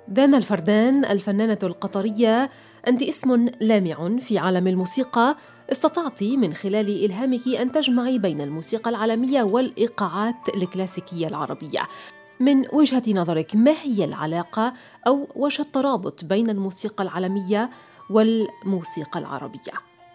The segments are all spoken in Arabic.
دانا الفردان الفنانة القطرية، أنت اسم لامع في عالم الموسيقى. استطعت من خلال إلهامك أن تجمعي بين الموسيقى العالمية والإيقاعات الكلاسيكية العربية. من وجهة نظرك، ما هي العلاقة أو وش الترابط بين الموسيقى العالمية والموسيقى العربية؟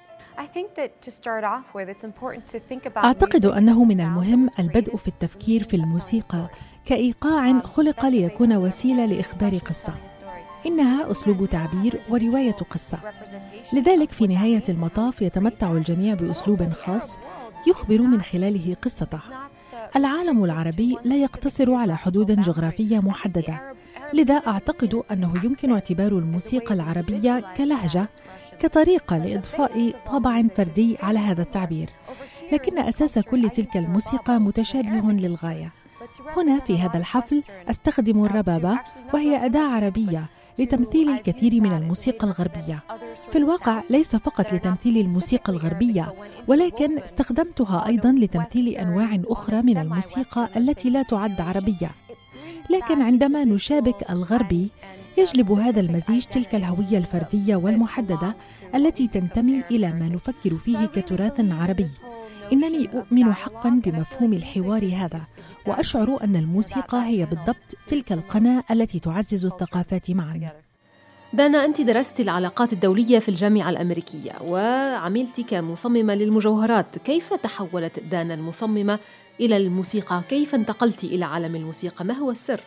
أعتقد أنه من المهم البدء في التفكير في الموسيقى كإيقاع خلق ليكون وسيلة لإخبار قصة. إنها أسلوب تعبير ورواية قصة، لذلك في نهاية المطاف يتمتع الجميع بأسلوب خاص يخبر من خلاله قصته. العالم العربي لا يقتصر على حدود جغرافية محددة، لذا أعتقد أنه يمكن اعتبار الموسيقى العربية كلهجة، كطريقة لإضفاء طابع فردي على هذا التعبير، لكن أساس كل تلك الموسيقى متشابه للغاية. هنا في هذا الحفل أستخدم الربابة، وهي أداة عربية لتمثيل الكثير من الموسيقى الغربية. في الواقع ليس فقط لتمثيل الموسيقى الغربية، ولكن استخدمتها أيضاً لتمثيل أنواع أخرى من الموسيقى التي لا تعد عربية. لكن عندما نشابك الغربي يجلب هذا المزيج تلك الهوية الفردية والمحددة التي تنتمي إلى ما نفكر فيه كتراث عربي. إنني أؤمن حقاً بمفهوم الحوار هذا، وأشعر أن الموسيقى هي بالضبط تلك القناة التي تعزز الثقافات معاً. دانا، أنت درست العلاقات الدولية في الجامعة الأمريكية وعملت كمصممة للمجوهرات. كيف تحولت دانا المصممة إلى الموسيقى؟ كيف انتقلت إلى عالم الموسيقى؟ ما هو السر؟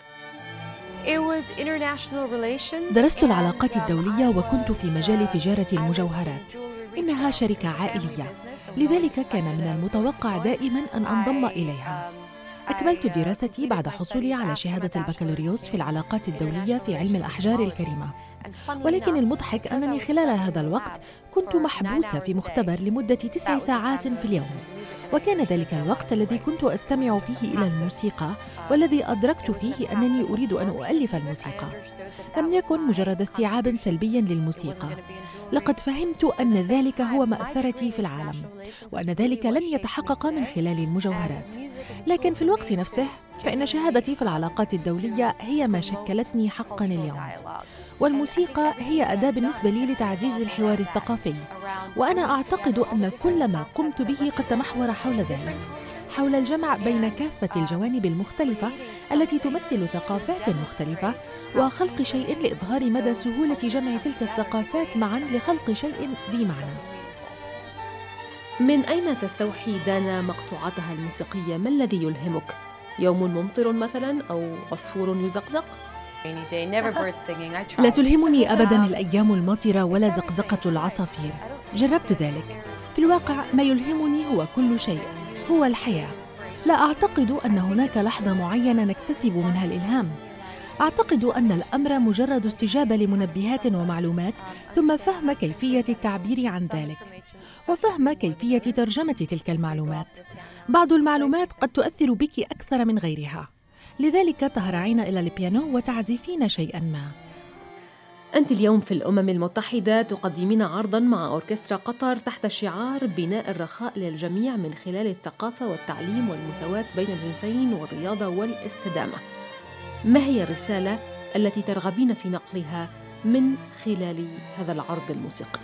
درست العلاقات الدولية وكنت في مجال تجارة المجوهرات. إنها شركة عائلية، لذلك كان من المتوقع دائماً أن أنضم إليها. أكملت دراستي بعد حصولي على شهادة البكالوريوس في العلاقات الدولية في علم الأحجار الكريمة، ولكن المضحك أنني خلال هذا الوقت كنت محبوسة في مختبر لمدة 9 ساعات في اليوم، وكان ذلك الوقت الذي كنت أستمع فيه إلى الموسيقى، والذي أدركت فيه أنني أريد أن أؤلف الموسيقى. لم يكن مجرد استيعاب سلبي للموسيقى، لقد فهمت أن ذلك هو مأثرتي في العالم، وأن ذلك لن يتحقق من خلال المجوهرات. لكن في الوقت نفسه فإن شهادتي في العلاقات الدولية هي ما شكلتني حقا اليوم، والموسيقى هي أداة بالنسبة لي لتعزيز الحوار الثقافي، وأنا أعتقد أن كل ما قمت به قد تمحور حول ذلك، حول الجمع بين كافة الجوانب المختلفة التي تمثل ثقافات مختلفة، وخلق شيء لإظهار مدى سهولة جمع تلك الثقافات معا لخلق شيء ذي معنى. من أين تستوحي دانا مقطوعاتها الموسيقية؟ ما الذي يلهمك؟ يوم ممطر مثلا أو عصفور يزقزق؟ لا تلهمني أبداً الأيام الماطرة ولا زقزقة العصافير، جربت ذلك. في الواقع ما يلهمني هو كل شيء، هو الحياة. لا أعتقد أن هناك لحظة معينة نكتسب منها الإلهام. أعتقد أن الأمر مجرد استجابة لمنبهات ومعلومات، ثم فهم كيفية التعبير عن ذلك، وفهم كيفية ترجمة تلك المعلومات. بعض المعلومات قد تؤثر بك أكثر من غيرها، لذلك تهرعين إلى البيانو وتعزفين شيئاً ما. أنت اليوم في الأمم المتحدة تقدمين عرضاً مع أوركسترا قطر تحت شعار بناء الرخاء للجميع من خلال الثقافة والتعليم والمساواة بين الجنسين والرياضة والاستدامة. ما هي الرسالة التي ترغبين في نقلها من خلال هذا العرض الموسيقي؟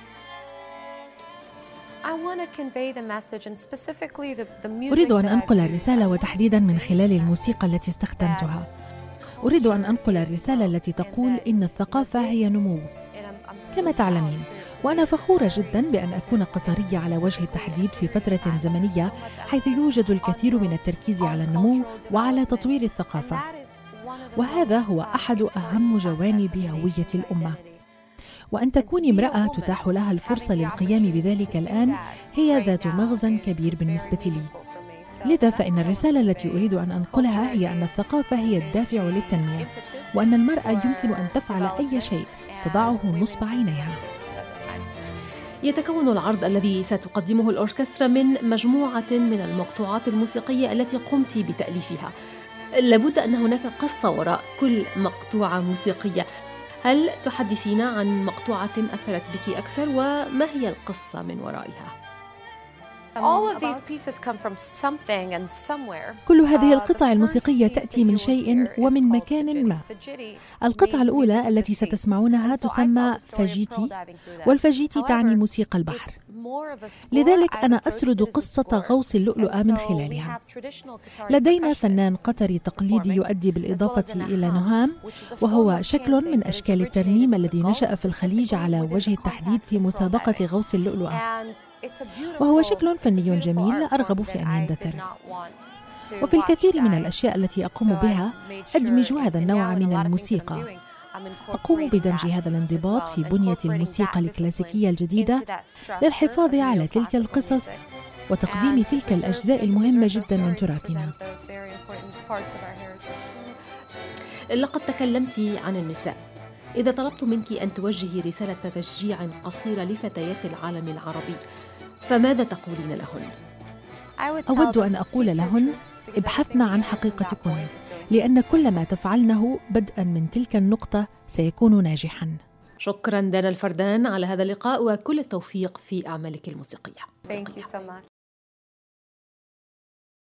أريد أن أنقل الرسالة، وتحديداً من خلال الموسيقى التي استخدمتها. أريد أن أنقل الرسالة التي تقول إن الثقافة هي نمو. كما تعلمين، وأنا فخورة جداً بأن أكون قطرية على وجه التحديد في فترة زمنية حيث يوجد الكثير من التركيز على النمو وعلى تطوير الثقافة، وهذا هو أحد أهم جوانب هوية الأمة. وأن تكوني امرأة تتاح لها الفرصة للقيام بذلك الآن هي ذات مغزى كبير بالنسبة لي. لذا فإن الرسالة التي أريد أن أنقلها هي أن الثقافة هي الدافع للتنمية، وأن المرأة يمكن أن تفعل أي شيء تضعه نصب عينيها. يتكون العرض الذي ستقدمه الأوركسترا من مجموعة من المقطوعات الموسيقية التي قمت بتأليفها. لابد أن هناك قصة وراء كل مقطوعة موسيقية. هل تحدثين عن مقطوعة أثرت بك أكثر، وما هي القصة من ورائها؟ كل هذه القطع الموسيقية تأتي من شيء ومن مكان ما. القطعة الأولى التي ستسمعونها تسمى فاجيتي، والفاجيتي تعني موسيقى البحر. لذلك أنا أسرد قصة غوص اللؤلؤة من خلالها. لدينا فنان قطري تقليدي يؤدي بالإضافة إلى نهام، وهو شكل من أشكال الترنيم الذي نشأ في الخليج على وجه التحديد في مسابقة غوص اللؤلؤة، وهو شكل فني جميل أرغب في أن يندثر. وفي الكثير من الأشياء التي أقوم بها أدمج هذا النوع من الموسيقى. أقوم بدمج هذا الانضباط في بنية الموسيقى الكلاسيكية الجديدة للحفاظ على تلك القصص وتقديم تلك الأجزاء المهمة جدا من تراثنا. لقد تكلمت عن النساء. إذا طلبت منك أن توجهي رسالة تشجيع قصيرة لفتيات العالم العربي، فماذا تقولين لهن؟ أود أن أقول لهن: ابحثن عن حقيقتكن، لأن كل ما تفعلنه بدءا من تلك النقطة سيكون ناجحا. شكرا دانا الفردان على هذا اللقاء، وكل التوفيق في أعمالك الموسيقية.